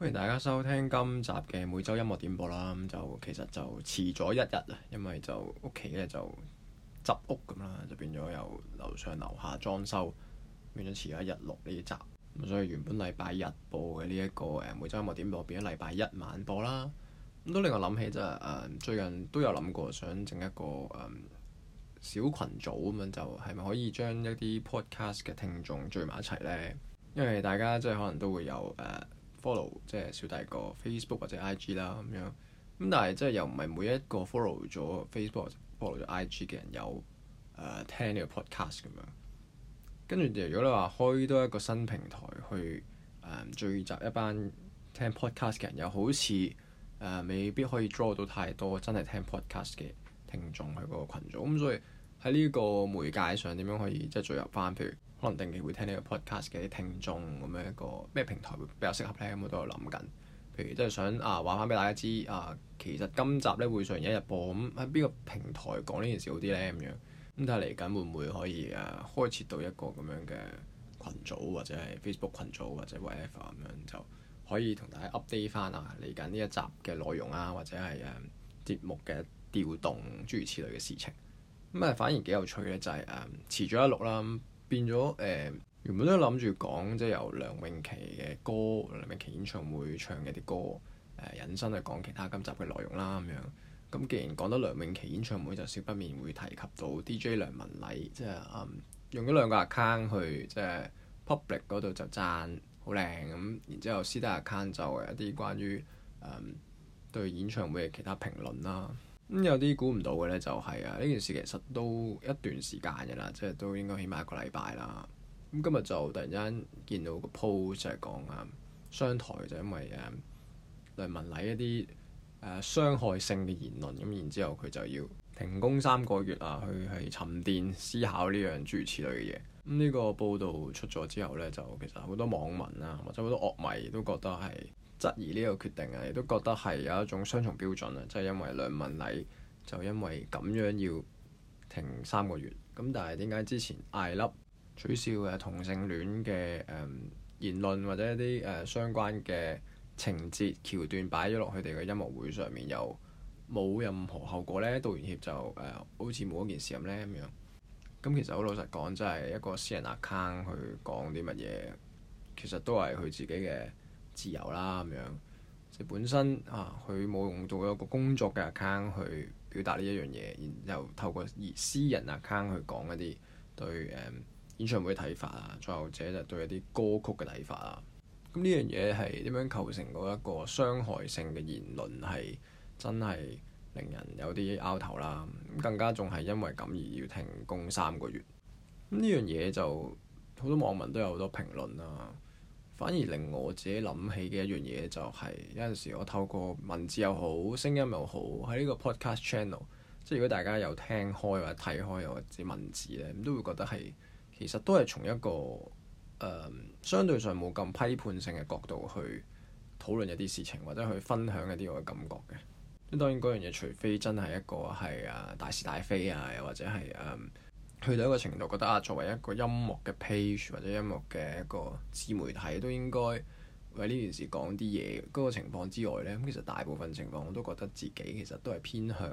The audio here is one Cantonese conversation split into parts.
歡迎大家收聽今集嘅每周音樂點播啦。咁就其實就遲咗一日啊，因為就屋企咧就執屋咁啦，就變咗由樓上樓下裝修，變咗遲咗一日錄呢集。咁所以原本禮拜日播嘅呢一個每周音樂點播變咗禮拜一晚播啦。咁都令我諗起最近都有諗過想整一個小群組咁樣，就係咪可以將一啲 podcast 嘅聽眾聚埋一齊呢？因為大家即係可能都會有follow 即係小弟個 Facebook 或者 IG 啦咁樣，咁但係即係又唔係每一個 follow 咗 Facebook 或者 follow 咗 IG 嘅人有聽呢個 podcast 咁樣。跟住如果你話開多一個新平台去聚集一班聽 podcast 嘅人，又好似未必可以 draw 到太多真係聽 podcast 嘅聽眾去嗰個群組。咁所以喺呢個媒介上點樣可以即係聚入翻？譬如可能定期會聽呢個 podcast 嘅啲聽眾咁樣，一個咩平台會比較適合咧？咁我都有諗緊。譬如即係想話翻俾大家知其實今集咧會上一日播，咁喺邊個平台講呢件事好啲咧？咁樣咁睇下嚟緊會唔會可以開設到一個咁樣嘅群組，或者係 Facebook 群組或者 whatever 咁樣，就可以同大家 update 翻嚟緊呢一集嘅內容或者係節目嘅調動諸如此類嘅事情。咁反而幾有趣嘅就係遲咗一錄啦。變咗原本都諗住講即係由梁詠琪嘅歌，梁詠琪演唱會唱嘅啲歌引申去講其他今集嘅內容啦咁樣。咁既然講到梁詠琪演唱會，就少不免會提及到 DJ 梁文禮，即係用咗兩個 account 去即係 public 嗰度就讚好靚咁，然之後私底 account 就一啲關於對演唱會嘅其他評論啦。咁有啲估唔到嘅咧，就係呢件事其實都一段時間嘅啦，即係都應該起碼一個禮拜啦。咁今日就突然間見到個 post 就係講商台就因為梁文禮一啲傷害性嘅言論，咁然之後佢就要停工3個月去沉澱思考呢樣諸如此類嘅嘢。咁呢個報導出咗之後咧，就其實好多網民或者好多樂迷都覺得係質疑呢個決定亦都覺得係有一種雙重標準即係因為梁文禮就因為咁樣要停3個月，咁但係點解之前艾粒取消嘅同性戀嘅言論或者一啲相關嘅情節橋段擺咗落佢哋嘅音樂會上面，又冇任何後果呢？道完歉就好似冇一件事咁呢咁樣。咁其實好老實講，真係一個私人 account 去講啲乜嘢，其實都係佢自己嘅自由啦咁樣。即係本身佢冇用到一個工作嘅 account 去表達呢一樣嘢，然後透過私人 account 去講一啲對演唱會嘅睇法再後者就對一啲歌曲嘅睇法咁呢樣嘢係點樣構成嗰一個傷害性嘅言論，係真係令人有啲拗頭啦。咁更加仲係因為咁而要停工3個月。咁呢樣嘢就好多網民都有好多評論啦。反而令我自己諗起嘅一樣嘢就係有陣時我透過文字又好聲音又好喺呢個 podcast channel， 即係如果大家有聽開或者睇開又或者文字咧，咁都會覺得係其實都係從一個相對上冇咁批判性嘅角度去討論一啲事情，或者去分享一啲我嘅感覺嘅。咁當然嗰樣嘢除非真係一個係大是大非又或者係去到一個程度，覺得作為一個音樂嘅 page 或者音樂嘅一個自媒體，都應該為呢件事講啲嘢嗰個情況之外呢，咁其實大部分情況我都覺得自己其實都係偏向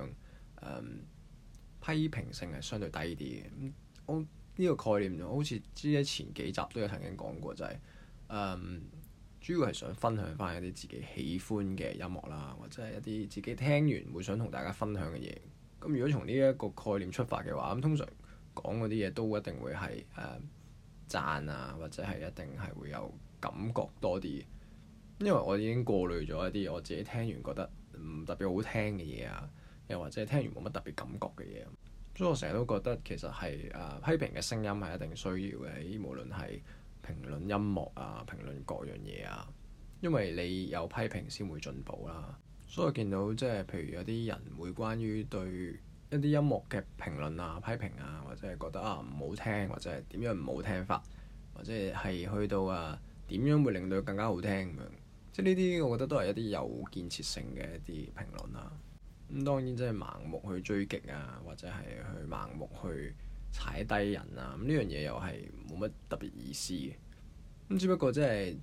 批評性係相對低啲嘅。我呢個概念好似之前幾集都有曾經講過，就係主要係想分享翻一啲自己喜歡嘅音樂啦，或者係一啲自己聽完會想同大家分享嘅嘢。咁如果從呢一個概念出發嘅話，咁通常講嗰啲嘢都一定會係讚或者係一定係會有感覺多啲，因為我已經過濾咗一啲我自己聽完覺得唔特別好聽嘅嘢又或者係聽完冇乜特別感覺嘅嘢。所以我成日都覺得其實係批評嘅聲音係一定需要嘅，無論係評論音樂評論各樣嘢因為你有批評先會進步啦。所以我見到即係譬如有啲人會關於對一啲音樂嘅評論批評或者係覺得唔好聽，或者係點樣唔好聽法，或者係去到點樣會令到佢更加好聽咁樣。即係呢啲我覺得都係一啲有建設性嘅一啲評論咁當然即係盲目去追擊或者係去盲目去踩低人咁呢樣嘢又係冇乜特別意思嘅。咁只不過即係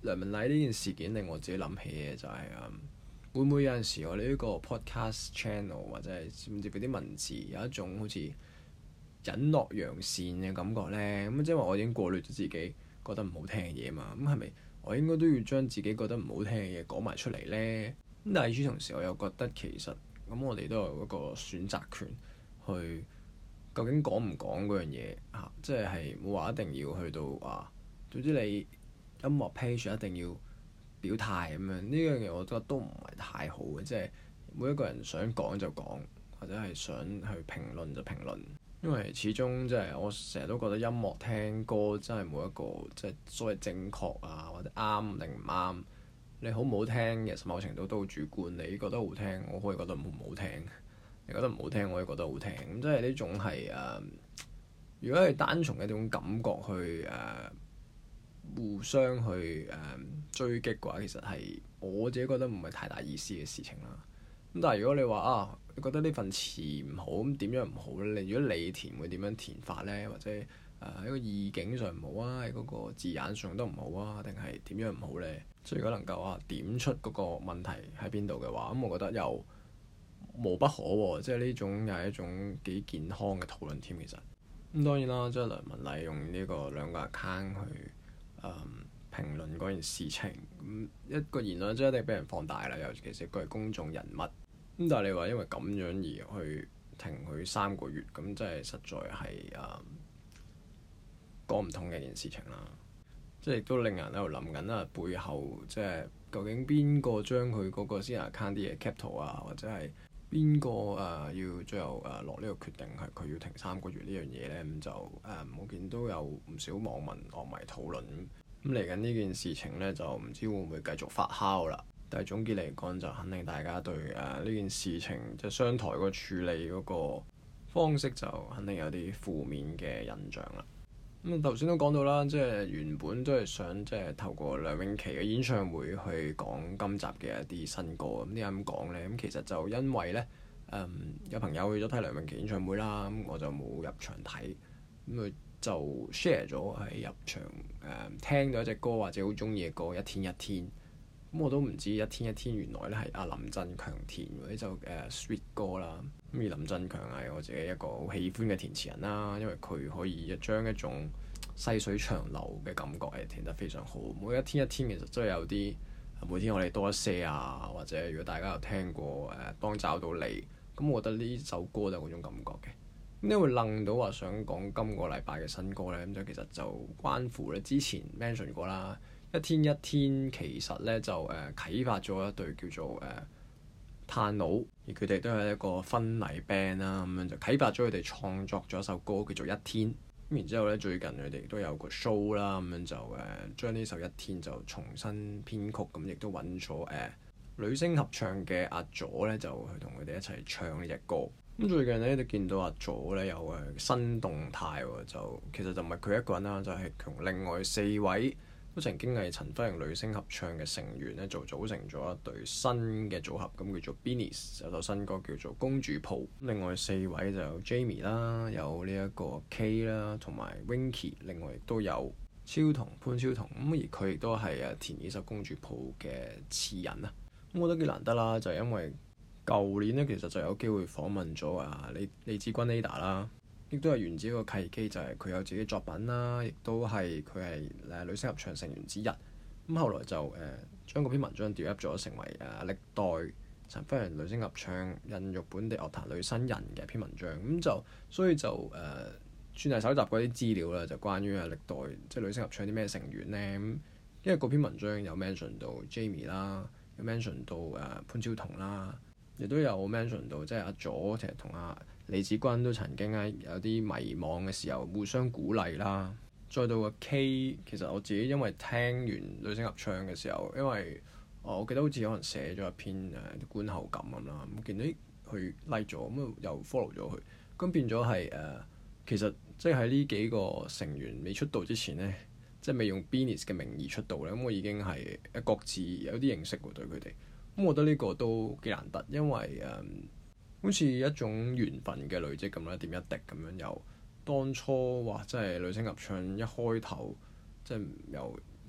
梁文禮呢件事件令我自己諗起嘅就係會唔會有陣時我哋呢個 podcast channel 或者係甚至乎啲文字有一種好似隱惡揚善嘅感覺呢？咁即係話我已經過濾咗自己覺得唔好聽嘅嘢嘛，咁係咪我應該都要將自己覺得唔好聽嘅嘢講埋出嚟呢？咁但係與此同時我又覺得其實咁我哋都有一個選擇權去究竟講唔講嗰樣嘢嚇，即係冇話一定要去到話，總之你音樂 page 一定要表態咁樣，呢樣嘢我覺得都唔係太好嘅，即係每一個人想講就講，或者係想去評論就評論，因為始終即係我成日都覺得音樂聽歌真係冇一個即係所謂正確啊或者啱定唔啱，你好唔好聽其實某程度都好主觀，你覺得好聽我可以覺得唔好聽，你覺得唔好聽我可以覺得好聽，咁即係呢種係如果係單從一種感覺去互相去追擊嘅話，其實係我自己覺得唔係太大意思嘅事情啦。咁但係如果你話你覺得呢份詞唔好，咁點樣唔好咧？如果你填會點樣填法咧？或者喺個意境上唔好啊，喺嗰個字眼上都唔好啊，定係點樣唔好咧？即係如果能夠點出嗰個問題喺邊度嘅話，咁我覺得又無不可喎。即係呢種又係一種幾健康嘅討論添。其實咁當然啦，即係梁文禮用呢個兩個 account 去評論嗰件事情，咁一個言論即係一定俾人放大啦。尤其是佢係公眾人物，咁但係你話因為咁樣而去停佢3個月，咁即係實在係講唔通嘅一件事情啦。即係亦都令人喺度諗緊背後即係究竟邊個將佢嗰個私人 account 啲嘢 cap 圖啊，或者係邊個要最後落呢個決定係佢要停3個月呢樣嘢咧？咁就我見都有唔少網民樂迷討論。咁嚟緊呢件事情呢，就唔知會唔會繼續發酵啦。但係總結嚟講，就肯定大家對呢件事情即係商台個處理嗰個方式就肯定有啲負面嘅印象啦。咁頭先都講到啦，即係原本都係想即係透過梁詠琪嘅演唱會去講今集嘅一啲新歌。咁點解咁講呢？咁其實就因為呢，有朋友去咗睇梁詠琪演唱會啦，咁我就冇入場睇，咁佢就 share 咗喺入場聽到一隻歌或者好中意嘅歌《一天一天》。咁我都唔知《一天一天》原來咧係阿林振強填嗰啲就sweet 歌啦。咁而林振強係我自己一個好喜歡嘅填詞人啦，因為佢可以將一種細水長流嘅感覺係填得非常好。每一天一天其實真係有啲每天我哋多一些啊，或者如果大家有聽過當找到你，咁我覺得呢首歌就係嗰種感覺嘅。咁點會愣到話想講今個禮拜嘅新歌呢？咁就其實就關乎咧之前 mention 過啦，一天一天其實咧就啟發咗一隊叫做炭佬，而佢哋都係一個婚禮 band 啦，咁樣就啟發咗佢哋創作咗一首歌叫做《一天》。咁然之後咧最近佢哋都有個 show 啦，咁樣就將呢首《一天》就重新編曲，咁亦都揾咗女聲合唱嘅阿佐咧，就去同佢哋一齊唱呢隻歌。咁最近咧就見到阿佐咧有新動態喎，就其實就唔係佢一個人啦，就係同另外4位都曾經係陳輝陽女聲合唱嘅成員咧，就組成咗一隊新嘅組合，咁叫做 Beanies， 有首新歌叫做《公主抱》。另外4位就有 Jamie 啦，有呢一個 K 啦，同埋 Winky， 另外亦都有超同潘超同，咁而佢亦都係填呢首《公主抱》嘅詞人啊。咁我覺得幾難得啦，就係因為舊年咧其實就有機會訪問咗李芷君 Ada 啦。亦都係源自一個契機，就係佢有自己作品啦，亦都係佢係女聲合唱成員之一。咁後來就將嗰篇文章調入咗成為歷代陳輝陽女聲合唱孕育本地樂壇女新人嘅一篇文章。咁就所以就算係搜集嗰啲資料啦，就關於歷代即係女聲合唱啲咩成員呢？咁因為嗰篇文章有 mention 到 Jamie 啦，有 mention 到潘超彤啦，亦都有 mention 到即係阿佐其實同李芷君都曾經有啲迷惘嘅時候互相鼓勵啦。再到個 K， 其實我自己因為聽完女聲合唱嘅時候，因為我記得好似可能寫咗一篇觀後感咁啦，咁見到佢 like 咗，咁又 follow 咗佢，咁變咗係其實即係喺呢幾個成員未出道之前呢，即係未用 Beanies 嘅名義出道咧，咁我已經係各自有啲認識喎對佢哋。咁我覺得呢個都幾難得，因為好似一種緣分嘅累積咁啦，一點一滴咁樣由當初即係女聲合唱一開頭，即係由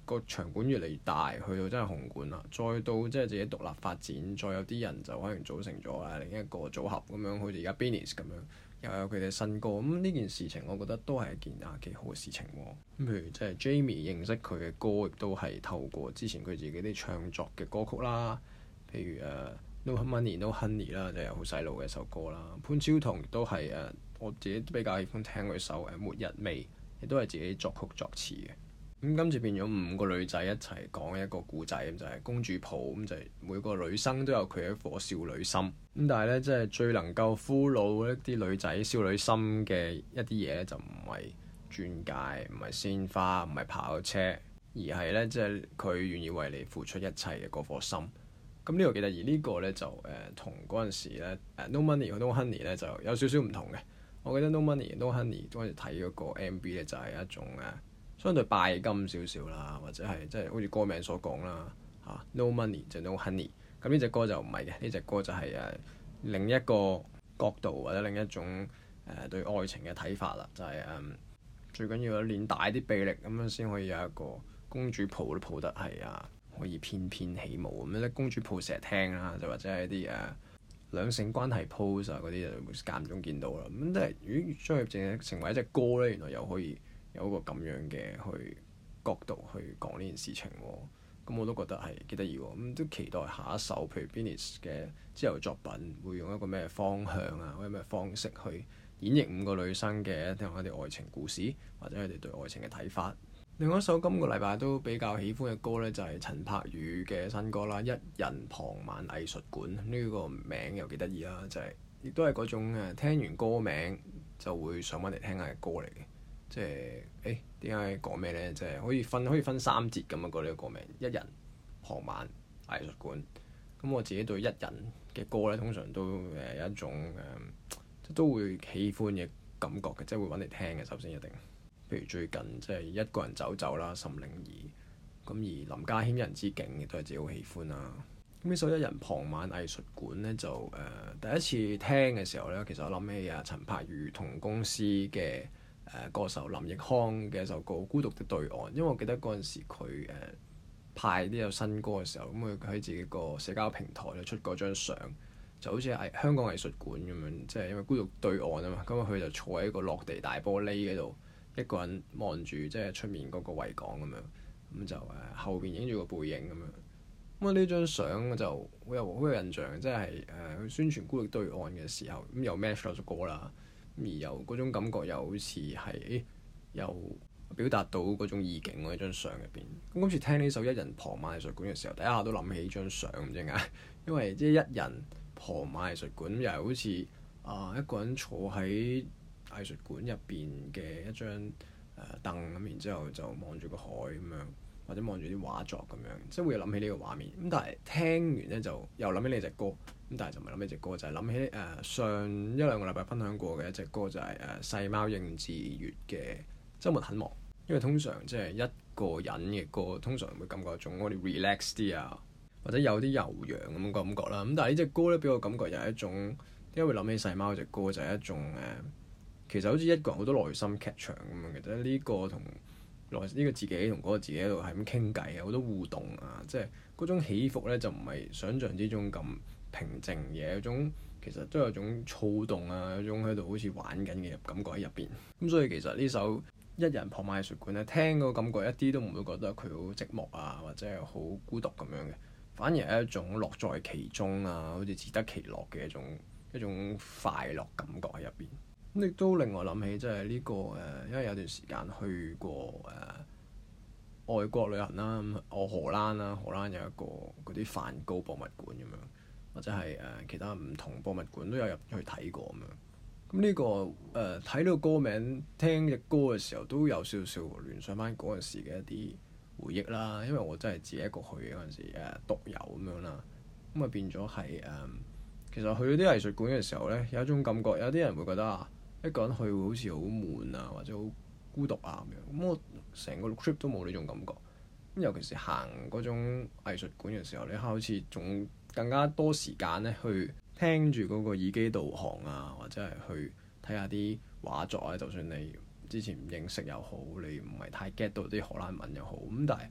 個場館越嚟越大，去到真係紅館啦，再到即係自己獨立發展，再有啲人就可能組成咗另一個組合咁樣，好似而家 Beanies 咁樣，又有佢哋新歌。咁呢件事情我覺得都係一件幾好嘅事情喎。咁譬如即係 Jamie 認識佢嘅歌，亦都係透過之前佢自己啲唱作嘅歌曲啦，譬如No Money No Honey 啦，就係好洗腦嘅一首歌啦。潘超彤亦都係我自己比較喜歡聽佢首末日味，亦都係自己作曲作詞嘅。咁今次變咗5個女仔一齊講一個故仔，咁就係公主抱，咁就係每個女生都有佢一顆少女心。咁但係咧，即係最能夠俘虜一啲女仔少女心嘅一啲嘢咧，就唔係鑽戒，唔係鮮花，唔係跑車，而係咧即係佢願意為你付出一切嘅嗰顆心。咁呢個幾得意，呢個咧就同嗰陣時咧No Money No Honey 咧就有少少唔同嘅。我記得 No Money No Honey 嗰陣時睇嗰個 MV 咧就係一種相對拜金少少啦，或者係即係好似歌名所講啦嚇 No Money 就 No Honey。咁呢隻歌就唔係嘅，呢隻歌就係另一個角度或者另一種對愛情嘅睇法啦，就係最緊要練大啲臂力咁樣先可以有一個公主抱都抱得係可以翩翩起舞咁樣咧。公主抱成日聽啦，就或者係啲兩性關係 pose 嗰啲就間唔中見到啦。咁但係如果將佢成為一隻歌咧，原來又可以有一個咁樣嘅角度去講呢件事情喎。咁我都覺得係幾得意喎。咁都期待下一首譬如 Beanies 嘅之後作品會用一個咩方向或者咩方式去演繹5個女生嘅一啲愛情故事，或者佢哋對愛情嘅睇法。另外一首今個禮拜都比較喜歡嘅歌呢，就係陳柏宇嘅新歌啦，《一人傍晚藝術館》。呢個名又幾得意啦，就係亦都係嗰種聽完歌名就會想揾嚟聽下嘅歌嚟嘅。即係點解講咩呢？即係可以分3節咁樣講呢個歌名，《一人傍晚藝術館》。咁我自己對一人嘅歌呢，通常都有一種都會喜歡嘅感覺嘅，即係會揾嚟聽嘅。首先一定。譬如最近即係一個人走走啦，岑寧兒咁，而林家謙一人之境亦都係自己好喜歡啦。咁呢首《一人傍晚藝術館》呢，就第一次聽嘅時候呢，其實我諗起陳柏宇同公司嘅歌手林奕匡嘅一首歌《孤獨的對岸》，因為我記得嗰陣時佢派啲有新歌嘅時候，咁佢喺自己個社交平台咧出嗰張相，就好似香港藝術館咁樣，即係因為孤獨對岸啊嘛，咁佢就坐喺個落地大玻璃嗰度。一個人望住即係出面嗰個維港咁樣，咁就後邊影住個背影咁樣。咁呢張相就好有印象，即係佢宣傳孤獨對岸嘅時候，咁又 match 咗首歌啦，咁而又嗰種感覺又好似係又表達到嗰種意境喎，喺張相入邊。咁今次聽呢首《一人傍晚藝術館》嘅時候，第一下都諗起張相唔知點解，因為即係一人傍晚藝術館又係好似一個人坐喺藝術館入邊嘅一張凳咁，然之後就望住個海咁樣，或者望住啲畫作咁樣，即係會諗起呢個畫面。咁但係聽完咧就又諗起呢隻歌，咁但係就唔係諗起隻歌，就係諗起上1-2個禮拜分享過嘅一隻歌，就係細貓應智越嘅週末很忙。因為通常即係一個人嘅歌，通常會感覺一種我哋 relax 啲啊，或者有啲悠揚咁嘅感覺啦。咁但係呢隻歌咧，俾我感覺又係一種點解會諗起細貓隻歌，就係一種其實好似一個人好多內心劇場咁樣嘅，即係呢個同呢個自己同嗰個自己喺度係咁傾偈啊，好多互動啊，即係嗰種起伏咧就唔係想像之中咁平靜嘅，有種其實都有種躁動啊，有種喺度好似玩緊嘅感覺喺入邊。咁所以其實呢首《一人傍晚藝術館》咧，聽個感覺一啲都唔會覺得佢好寂寞啊，或者係好孤獨咁樣嘅，反而係一種樂在其中啊，好似自得其樂嘅一種快樂感覺喺入邊。咁亦都令我諗起，即係呢個因為有段時間去過外國旅行啦，我荷蘭啦，荷蘭有一個嗰啲梵高博物館咁樣，或者係其他唔同博物館都有入去睇過咁樣。咁呢個睇呢個歌名，聽隻歌嘅時候都有少少聯想翻嗰陣時嘅一啲回憶啦。因為我真係自己一個去嗰陣時獨遊咁樣啦，咁啊變咗係其實去到啲藝術館嘅時候咧，有一種感覺，有啲人會覺得一個人去會好似好悶啊，或者好孤獨啊咁樣。咁我成個 trip 都冇呢種感覺。咁尤其是行嗰種藝術館嘅時候，你好似仲更加多時間咧去聽住嗰個耳機導航啊，或者係去睇下啲畫作啊。就算你之前唔認識又好，你唔係太 get 到啲荷蘭文又好，咁但係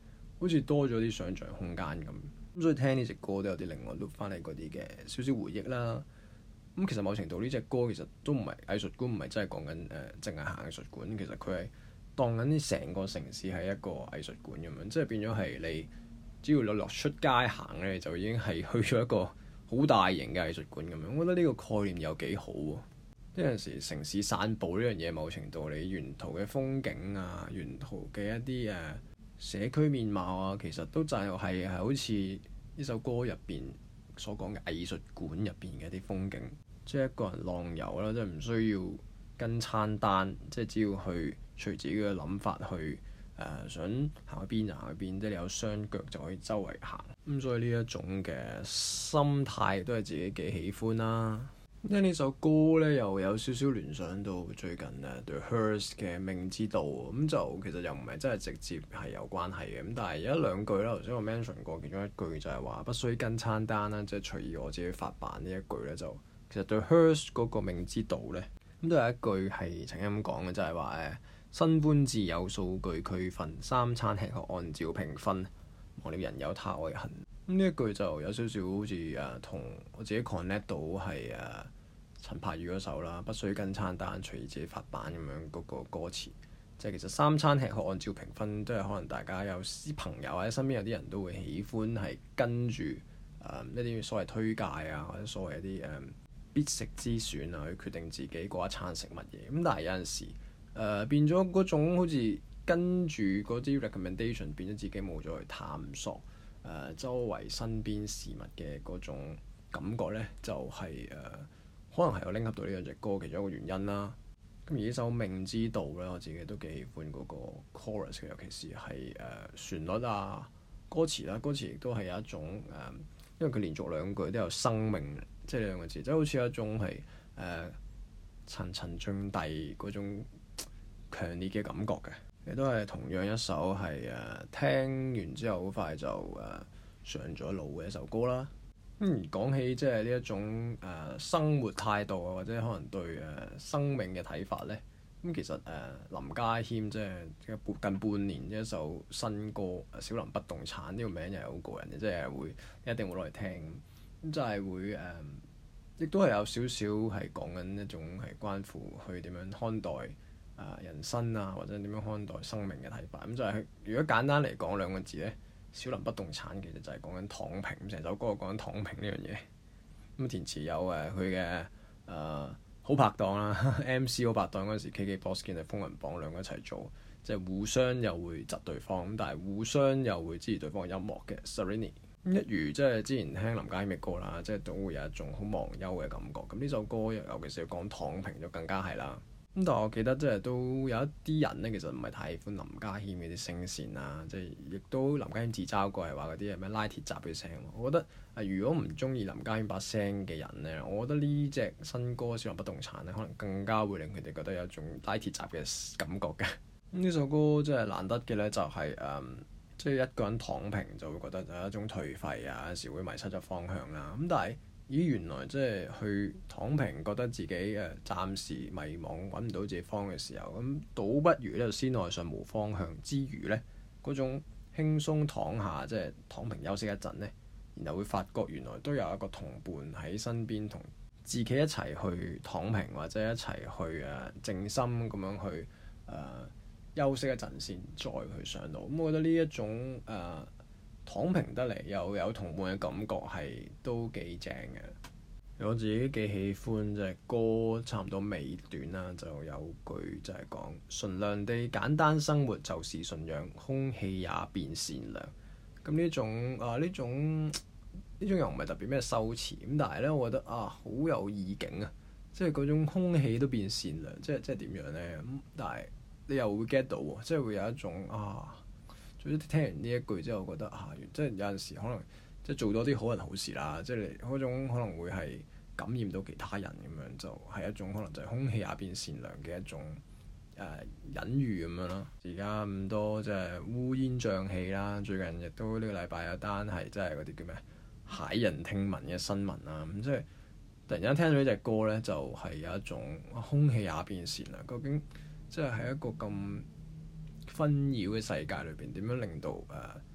好似多咗啲想像空間咁。咁所以聽呢隻歌都有啲令我 look 翻嚟嗰啲嘅少少回憶啦。咁其實某程度呢隻歌其實都唔係藝術館，唔係真係講緊淨係行藝術館。其實佢係當緊啲成個城市係一個藝術館咁樣，即係變咗係你只要你落出街行咧，就已經係去咗一個好大型嘅藝術館咁樣。我覺得呢個概念又幾好喎。有陣時城市散步呢樣嘢，某程度你沿途嘅風景啊，沿途嘅一啲社區面貌啊，其實都就係好似呢首歌入邊所講嘅藝術館入邊嘅一啲風景，即係一個人浪遊啦，即係唔需要跟餐單，即係只要去隨自己嘅諗法去想行去邊就行去邊，即係你有雙腳就可以周圍行。咁所以呢一種嘅心態都係自己幾喜歡啦。聽呢首歌咧，又有少少聯想到最近The Hers 嘅《命之道》，咁就其實又唔係真係直接係有關係嘅，咁但係有一兩句啦，頭先我 mention 過其中一句就係話不需跟餐單啦，即係隨意我自己發辦呢一句咧，就其實 The Hers 嗰個《命之道》咧，咁都有一句係曾經咁講嘅，就係話新官至有數據區分，三餐吃喝按照評分，忘了人有他愛恨。咁呢一句就有少少好似同我自己 connect 到係陳柏宇嗰首啦，不需跟餐單，隨意自己發辦咁樣嗰個歌詞，即係其實三餐吃喝按照評分，都係可能大家有啲朋友或者身邊有啲人都會喜歡係跟住一啲所謂推介啊，或者所謂一啲必食之選啊，去決定自己嗰一餐食乜嘢。咁但係有陣時變咗嗰種好似跟住嗰啲 recommendation， 變咗自己冇咗去探索周圍身邊事物嘅嗰種感覺咧，就係可能係我拎合到呢兩隻歌其中一個原因啦。咁而呢首《命之道》咧，我自己都幾喜歡嗰個 chorus 嘅，尤其是係旋律啊、歌詞啦，歌詞亦都係有一種因為佢連續兩句都有生命，即係呢兩個字，即係好似有一種係層層進遞嗰種強烈嘅感覺嘅。亦都係同樣一首係聽完之後好快就上咗腦嘅一首歌啦。咁講起即係呢一種生活態度啊，或者可能對生命嘅睇法咧，咁其實林家謙即係近半年一首新歌《小林不動產》呢個名又係好過癮嘅，即係會一定會攞嚟聽。咁就係會亦都係有少少係講緊一種係關乎去點樣看待人生啊，或者點樣看待生命嘅睇法。咁就係如果簡單嚟講兩個字咧，小林不動產其實就係講緊躺平，成首歌講緊躺平呢樣嘢。咁填詞有佢嘅好拍檔啦，MC 好拍檔嗰陣時 KKBOX 見係風雲榜兩個一齊做，即係互相又會窒對方，咁但係互相又會支持對方嘅音樂嘅 Serrini。一如即係之前聽林家謙嘅歌啦，即係都會有一種好忘憂嘅感覺。咁呢首歌尤其是要講躺平就更加係啦。咁但係我記得即係都有一啲人咧，其實唔係太喜歡林家謙嗰啲聲線啊，即係亦都林家謙自嘲過係話嗰啲係咩拉鐵閘嘅聲。我覺得如果唔中意林家謙把聲嘅人咧，我覺得呢隻新歌《小林不動產》咧，可能更加會令佢哋覺得有一種拉鐵閘嘅感覺嘅。咁呢首歌真係難得嘅咧，就係即係一個人躺平就會覺得有一種頹廢啊，有時會迷失咗方向啦。咁但係原來即係去躺平，覺得自己暫時迷茫，揾唔到自己方向嘅時候，咁倒不如呢先愛上無方向之餘呢，嗰種輕鬆躺下，即係躺平休息一陣呢，然後會發覺原來都有一個同伴喺身邊，同自己一齊去躺平，或者一齊去靜心咁樣去休息一陣先，再去上路。咁我覺得呢一種躺平得嚟又有同伴嘅感覺係都幾正嘅。我自己幾喜歡隻歌差唔多尾段啦，就有句就係講純良地簡單生活就是信仰，空氣也變善良。咁呢種又唔係特別咩修辭咁，但係咧我覺得好有意境啊！即係嗰種空氣都變善良，即係點樣咧？咁但係你又會 get 到喎，即係會有一種總之聽完呢一句之後，覺得即係有陣時可能即係做多啲好人好事啦，即係你嗰種可能會係感染到其他人咁樣，就係一種可能就係空氣也變善良嘅一種隱喻咁樣咯。而家咁多即係烏煙瘴氣啦，最近亦都呢個禮拜有單係即係嗰啲叫咩駭人聽聞嘅新聞啦。咁即係突然間聽到呢隻歌咧，就係有一種空氣也變善良。究竟即係喺一個咁紛擾嘅世界裏邊，點樣令到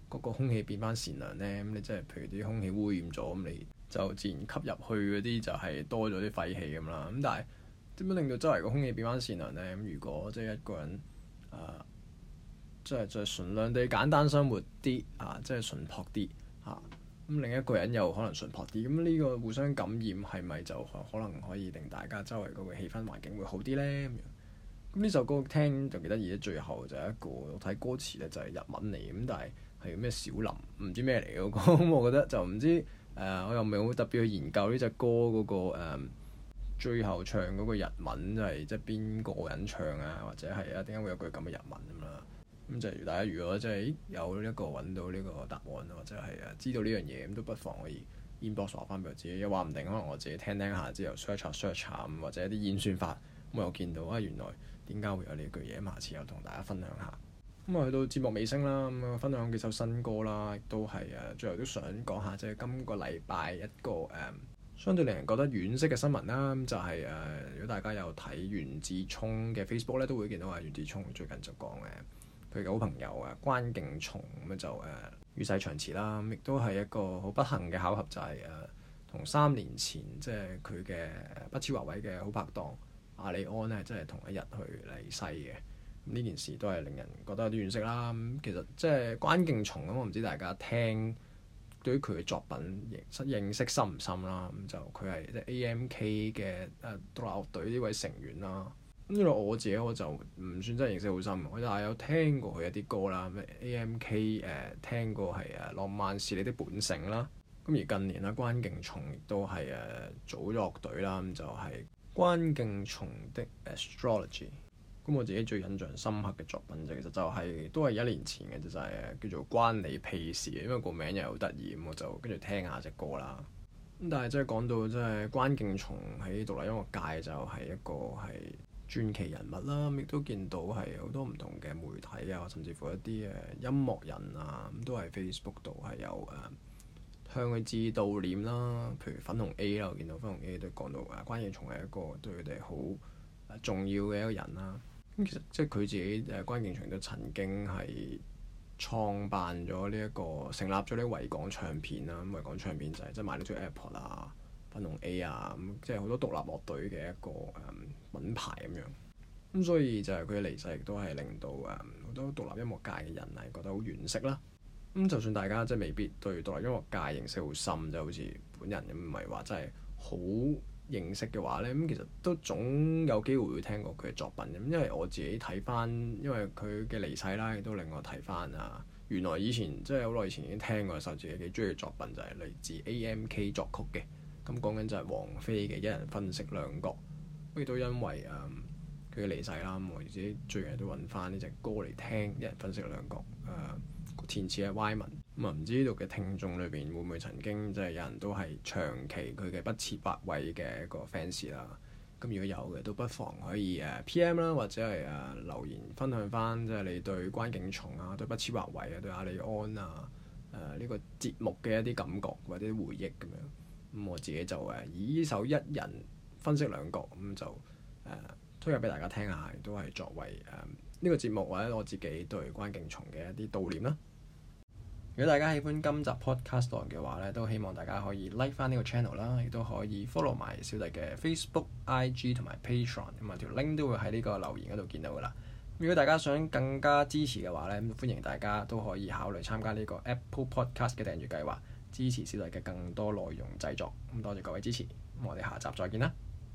嗰個空氣變翻善良呢？咁你即係譬如啲空氣污染咗，咁你就自然吸入去嗰啲就係多咗啲廢氣咁啦。咁但係點樣令到周圍個空氣變翻善良呢？咁如果即係一個人即係純良地簡單生活啲即係純樸啲咁另一個人又可能純樸啲，咁呢個互相感染係咪就可能可以令大家周圍嗰個氣氛環境會好啲呢？咁呢首歌聽就幾得意，最後就係一個我睇歌詞咧就係日文嚟，咁但係咩小林唔知咩嚟嗰個，咁我覺得就唔知我又唔係好特別去研究呢隻歌嗰個最後唱嗰個日文就係即係邊個人唱或者係點解會有句咁嘅日文咁啦？咁就係大家如果即係有一個揾到呢個答案或者係知道呢樣嘢，咁都不妨可以 inbox 話翻俾我自己，又話唔定可能我自己聽下之後 search 下或者一啲演算法，咁我又見到原來點解會有呢句嘢，下次又同大家分享下。咁去到節目尾聲啦，咁分享幾首新歌啦，亦都係最後都想講下即係今個禮拜一個相對令人覺得惋惜嘅新聞啦。咁就係如果大家有睇袁志聰嘅 Facebook 咧，都會見到袁志聰最近就講佢嘅好朋友關敬松咁就與世長辭啦。咁亦都係一個好不幸嘅巧合，就係同3年前即係佢嘅不肖華為嘅好拍檔阿里安呢，即係同一日去離世嘅。咁呢件事都係令人覺得有啲惋惜啦。咁其實即係關敬松咁，我唔知大家聽對於佢嘅作品認識深唔深啦。咁就佢係即係 AMK 嘅獨立樂隊呢位成員啦。咁因為我自己我就唔算真係認識好深，我就係有聽過佢一啲歌啦。咩 AMK 聽過係浪漫是你的本性啦。咁而近年關敬松亦都係組咗樂隊啦。咁就係關敬松的 Astrology。咁我自己最印象深刻嘅作品其實就係都係1年前嘅，就係叫做關你屁事，因為個名又好得意，咁我就跟住聽下隻歌啦。咁但係即係講到即係關敬松喺獨立音樂界就係一個係傳奇人物啦。亦都見到係好多唔同嘅媒體甚至乎一啲音樂人咁都喺 Facebook 度係有向佢致悼念啦。譬如粉紅 A 啦，我見到粉紅 A 都講到關敬松係一個對佢哋好重要嘅一個人啦。咁其實即係佢自己關敬松都曾經係創辦咗呢一個成立咗呢個維港唱片啦。咁維港唱片就係即係賣呢張 AirPod粉紅 A 咁即係好多獨立樂隊嘅一個品牌咁樣。咁所以就係佢嘅離世亦都係令到好多獨立音樂界嘅人係覺得好惋惜啦。咁就算大家即係未必對獨立音樂界認識好深，就好似本人咁，唔係話真係好認識嘅話呢，咁其實都總有機會會聽過佢嘅作品。咁因為我自己睇翻，因為佢嘅離世啦，亦都令我睇翻原來以前即係好耐以前已經聽過，受自己幾中意嘅作品就係嚟自 AMK 作曲嘅。咁講緊就係王菲嘅《一人分飾兩角》。亦都因為佢嘅離世啦，咁我自己最近都揾翻呢隻歌嚟聽，《一人分飾兩角》。填詞係 Y 文。咁唔知呢度嘅聽眾裏邊會唔會曾經即係有人都係長期佢嘅不設或位嘅一個 fans 啦？咁如果有嘅，都不妨可以PM 啦，或者係留言分享翻即係你對關敬松對不設或位對阿里安呢個節目嘅一啲感覺或者回憶咁樣。咁我自己就以呢首《一人分飾兩角》咁就推介俾大家聽下，亦都係作為呢個節目或者我自己對關敬松嘅一啲悼念啦。如果大家喜歡今集 podcast 嘅話咧，都希望大家可以 like 翻呢個 channel 啦，亦都可以 follow 埋小弟嘅 Facebook、IG 同埋 Patreon，咁條 link 都會喺呢個留言嗰度見到噶啦。如果大家想更加支持嘅話咧，歡迎大家都可以考慮參加呢個 Apple Podcast 嘅訂閱計劃，支持小弟嘅更多內容製作。咁多謝各位支持，咁我哋下集再見啦。